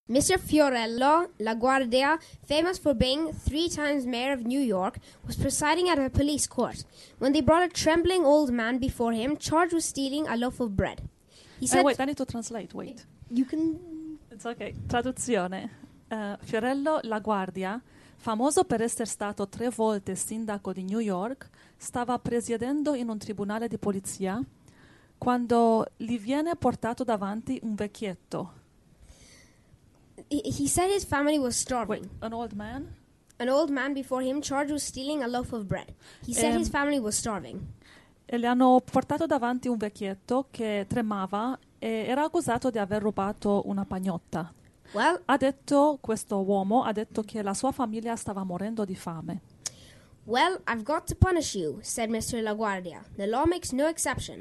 Mr. Fiorello LaGuardia, famous for being 3 times mayor of New York, was presiding at a police court when they brought a trembling old man before him, charged with stealing a loaf of bread. He said, wait, I need to translate, wait. You can... It's okay. Traduzione. Fiorello LaGuardia, famoso per essere stato 3 volte sindaco di New York, stava presiedendo in un tribunale di polizia quando gli viene portato davanti un vecchietto. He said his family was starving. Wait, an old man? An old man before him, charged with stealing a loaf of bread. He said his family was starving. E le hanno portato davanti un vecchietto che tremava e era accusato di aver rubato una pagnotta. Well, Questo uomo ha detto che la sua famiglia stava morendo di fame. well, I've got to punish you, said Mr. LaGuardia. The law makes no exception.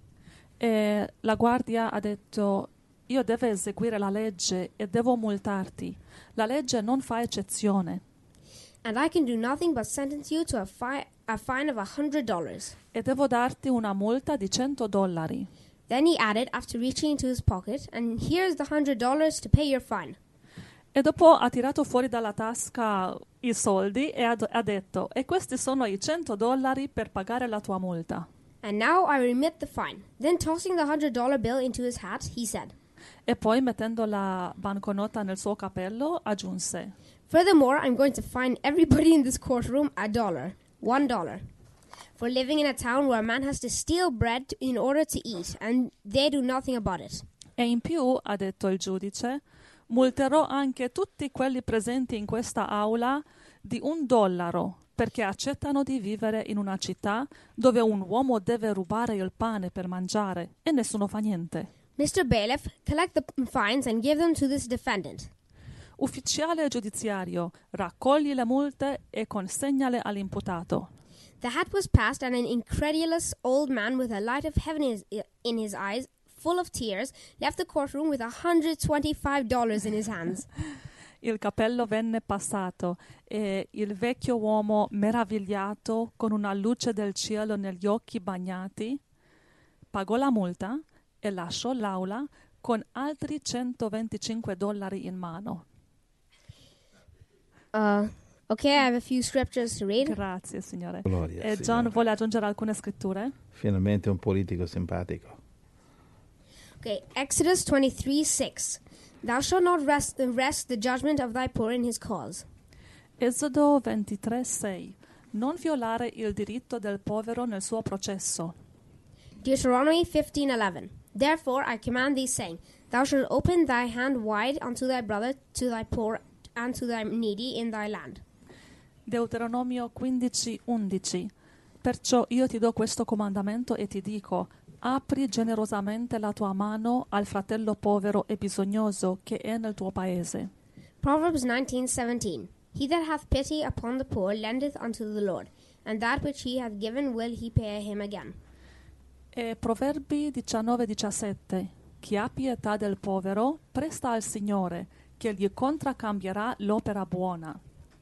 E la guardia ha detto: io devo eseguire la legge e devo multarti. La legge non fa eccezione. And I can do nothing but sentence you to a fine of $100. E devo darti una multa di $100. Then he added, after reaching into his pocket, and here's the $100 to pay your fine. E dopo ha tirato fuori dalla tasca i soldi e ha detto: e questi sono i $100 per pagare la tua multa. And now I remit the fine. Then tossing the $100 bill into his hat, he said, E poi, mettendo la banconota nel suo cappello, aggiunse: furthermore, I'm going to fine everybody in this courtroom $1 for living in a town where a man has to steal bread in order to eat, and they do nothing about it. E in più, ha detto il giudice, multerò anche tutti quelli presenti in questa aula di $1 perché accettano di vivere in una città dove un uomo deve rubare il pane per mangiare e nessuno fa niente. Mr. Bailiff, collect the fines and give them to this defendant. Ufficiale giudiziario, raccogli le multe e consegnale all'imputato. The hat was passed, and an incredulous old man with a light of heaven in his eyes, full of tears, left the courtroom with $125 in his hands. Il cappello venne passato e il vecchio uomo, meravigliato, con una luce del cielo negli occhi bagnati, pagò la multa e lasciò l'aula con altri $125 in mano. Okay, I have a few scriptures to read. Grazie, Signore. Gloria, E John Signore. vuole aggiungere alcune scritture? Finalmente un politico simpatico. Okay, Exodus 23:6. Thou shalt not rest the judgment of thy poor in his cause. Esodo 23:6. Non violare il diritto del povero nel suo processo. Deuteronomy 15:11. Therefore I command thee, saying, Thou shalt open thy hand wide unto thy brother, to thy poor, and to thy needy in thy land. Deuteronomio 15:11. Perciò io ti do questo comandamento e ti dico: apri generosamente la tua mano al fratello povero e bisognoso che è nel tuo paese. Proverbs 19:17. He that hath pity upon the poor lendeth unto the Lord, and that which he hath given will he pay him again. E Proverbi 19:17. Chi ha pietà del povero presta al Signore, che gli contraccambierà l'opera buona.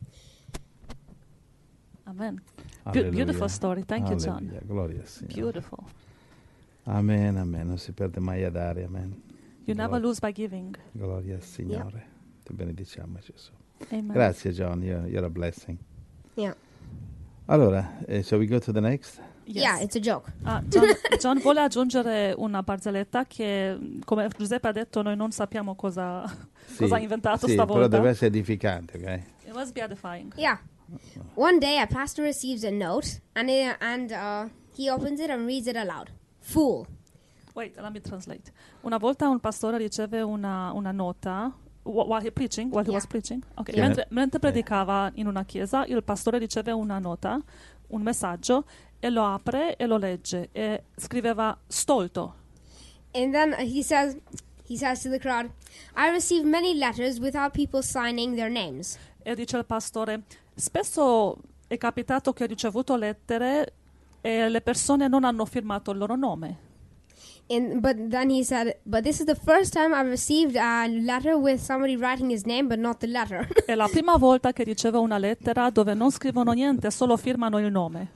Amen. Alleluia. Beautiful story. Thank you, John. Alleluia. Gloria al Signore. Beautiful. Amen, amen. Non si perde mai a dare, amen. You never lose by giving. Gloria al Signore. Ti benediciamo, Gesù. Amen. Grazie, John. You're a blessing. Yeah. Allora, shall we go to the next? Yes. Yeah, it's a joke. John vuole aggiungere una barzelletta che, come Giuseppe ha detto, noi non sappiamo cosa ha inventato sì, stavolta. però deve essere edificante, ok? It must be edifying. Yeah. One day a pastor receives a note, and he opens it and reads it aloud. Fool. Wait, let me translate. Una volta un pastore riceve una nota while he was preaching. Okay. Yeah. Mentre predicava in una chiesa, il pastore riceve una nota, un messaggio, e lo apre e lo legge e scriveva stolto. And then he says to the crowd, I receive many letters without people signing their names. E dice il pastore: spesso è capitato che ho ricevuto lettere e le persone non hanno firmato il loro nome. But then he said, but this is the first time I've received a letter with somebody writing his name but not the letter. È la prima volta che ricevo una lettera dove non scrivono niente, solo firmano il nome.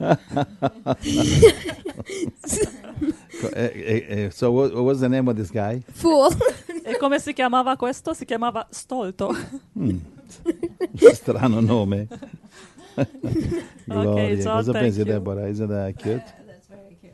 So what was the name of this guy? Fool. E come si chiamava questo? Si chiamava Stolto. Strano nome. Gloria. John, Cosa thank pensi, you. Deborah? Isn't that cute?